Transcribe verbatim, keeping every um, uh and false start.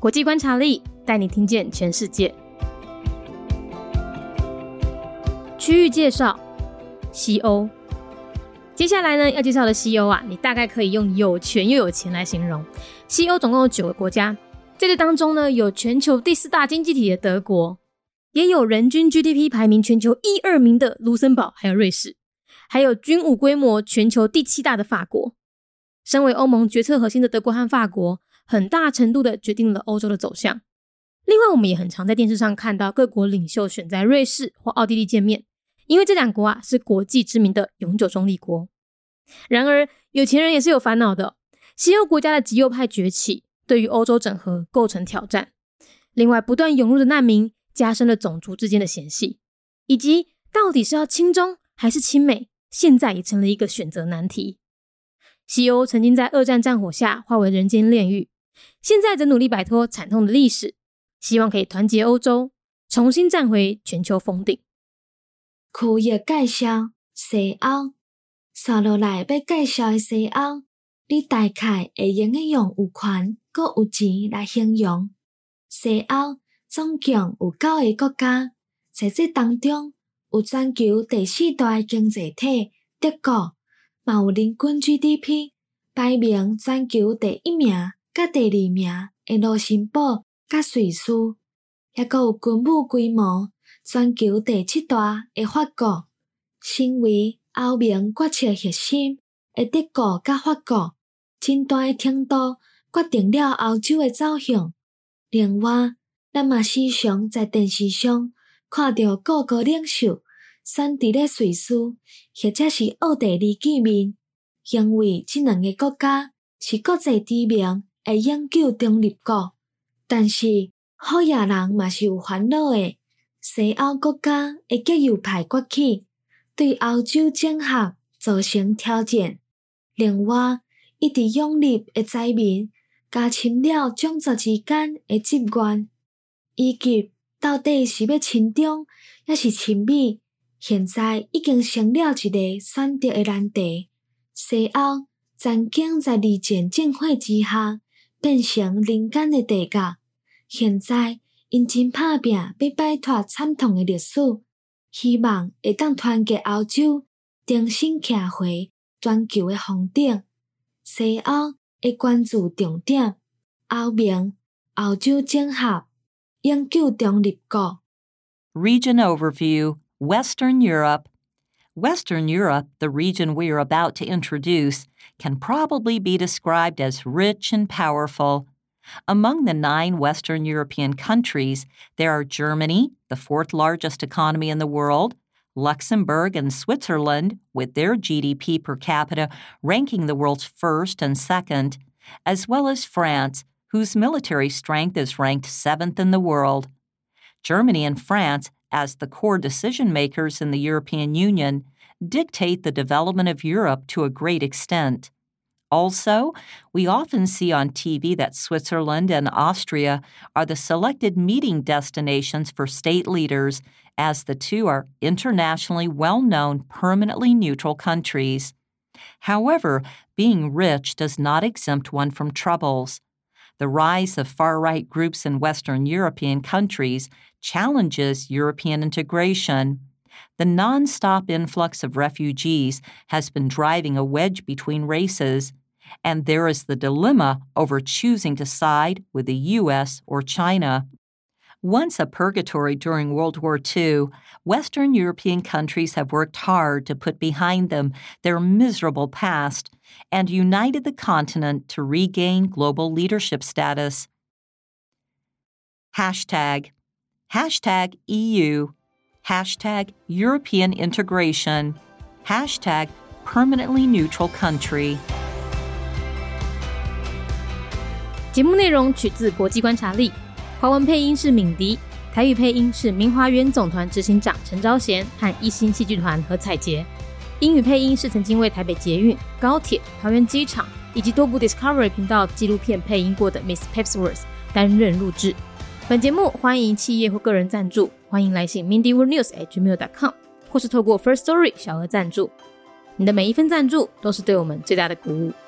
国际观察力带你听见全世界。区域介绍，西欧。接下来呢，要介绍的西欧啊，你大概可以用有权又有钱来形容。西欧总共有九个国家，在这当中呢，有全球第四大经济体的德国，也有人均 G D P 排名全球一二名的卢森堡还有瑞士，还有军武规模全球第七大的法国。身为欧盟决策核心的德国和法国，很大程度的决定了欧洲的走向。另外，我们也很常在电视上看到各国领袖选在瑞士或奥地利见面，因为这两国啊是国际知名的永久中立国。然而，有钱人也是有烦恼的哦。西欧国家的极右派崛起，对于欧洲整合构成挑战。另外，不断涌入的难民加深了种族之间的嫌隙，以及到底是要亲中还是亲美，现在也成了一个选择难题。西欧曾经在二战战火下化为人间炼狱，现在则努力摆脱惨痛的历史，希望可以团结欧洲，重新站回全球峰顶。 区域介绍，西欧。接落来要介绍的西欧，你大概会用得用有权佮有钱来形容。西欧总共有九个国家，在这当中有全球第四大经济体德国，嘛有人均 G D P 排名全球第一名甲第二名的卢森堡甲瑞士，也佮有军武规模全球第七大的法国。身为欧盟决策核心的德国甲法国，真大的程度决定了欧洲的走向。另外，咱嘛时常在电视上看到各国领袖选伫咧瑞士或者是奥地利见面，因为这两个国家是国际知名的永久中立国。但是，好野人嘛是有烦恼的，西欧国家的极右派崛起，对欧洲整合造成挑战。另外，一直涌入的灾民加深了种族之间的积怨，以及到底是要亲中还是亲美，现在已经成了一个选择的难题。西欧曾经在二战战火之下变成人间的地狱，现在因真打拼要摆脱惨痛的历史，希望会当团结欧洲，重新徛回全球的峰顶。西欧的关注重点：欧盟、欧洲整合、永久中立国。 Region Overview, Western Europe. Western Europe, the region we are about to introduce, can probably be described as rich and powerful. Among the nine Western European countries, there are Germany, the fourth largest economy in the world, Luxembourg and Switzerland, with their G D P per capita ranking the world's first and second, as well as France, whose military strength is ranked seventh in the world. Germany and France, as the core decision-makers in the European Union, dictate the development of Europe to a great extent. Also, we often see on T V that Switzerland and Austria are the selected meeting destinations for state leaders, as the two are internationally well-known permanently neutral countries. However, being rich does not exempt one from troubles. The rise of far-right groups in Western European countries challenges European integration. The non-stop influx of refugees has been driving a wedge between races, and there is the dilemma over choosing to side with the U S or China. Once a purgatory during World War Two, Western European countries have worked hard to put behind them their miserable past and united the continent to regain global leadership status. Hashtag. Hashtag E U. Hashtag European integration. Hashtag permanently neutral country. 节目内容取自国际观察力，华文配音是敏迪，台语配音是明华园总团执行长陈昭贤和一星戏剧团何彩杰，英语配音是曾经为台北捷运、高铁、桃园机场以及多部 Discovery 频道纪录片配音过的 Miss Pepsworth 担任录制。本节目欢迎企业或个人赞助，欢迎来信 mindy world news at gmail dot com 或是透过 First Story 小额赞助。你的每一份赞助都是对我们最大的鼓舞。